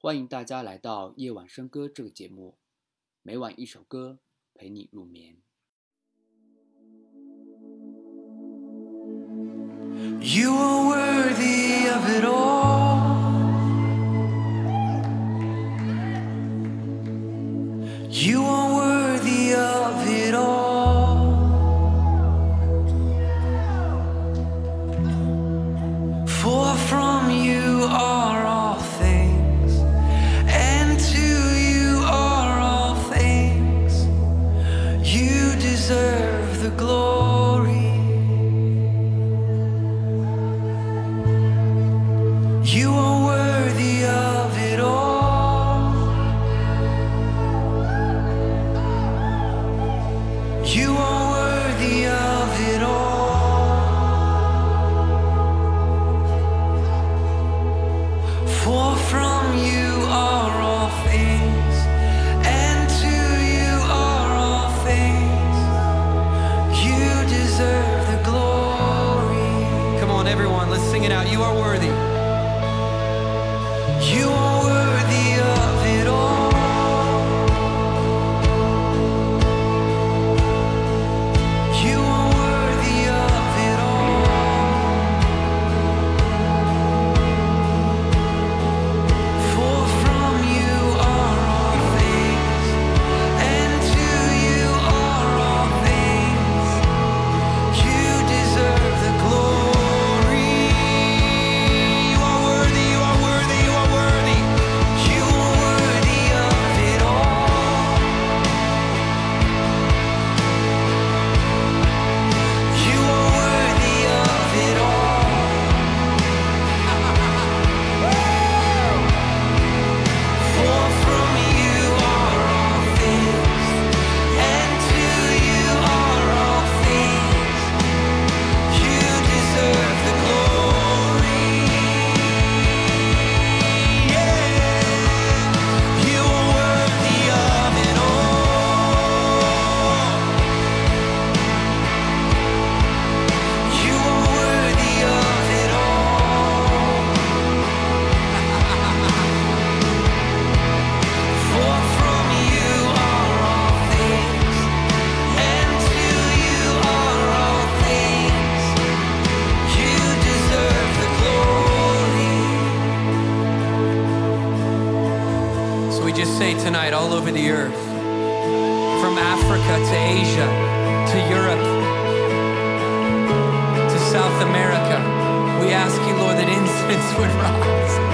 欢迎大家来到夜晚笙歌这个节目，每晚一首歌陪你入眠。 You are worthy of it all. You are worthy of it all. For from you are all things, and to you are all things. You deserve the glory. You are worthy of it all. You are worthy of it all. For from you are all things, and to you are all things. You deserve the glory. Come on, everyone, let's sing it out. You are worthy. You are worthy of it all. You are worthy of it all. For from you are all things, and to you are all things. You deserve the glory. You are worthy, you are worthy, you are worthy. You are worthy of it all. You are worthy of it all. For from you are all things, and to you are all things. You deserve the glory. You are worthy of it all. You are worthy of it all. For from you are all things, and to you are all things. You deserve the glory. So we just say tonight, all over the earth, from Africa to Asia to Europe to South America, we ask you, Lord, that incense would rise.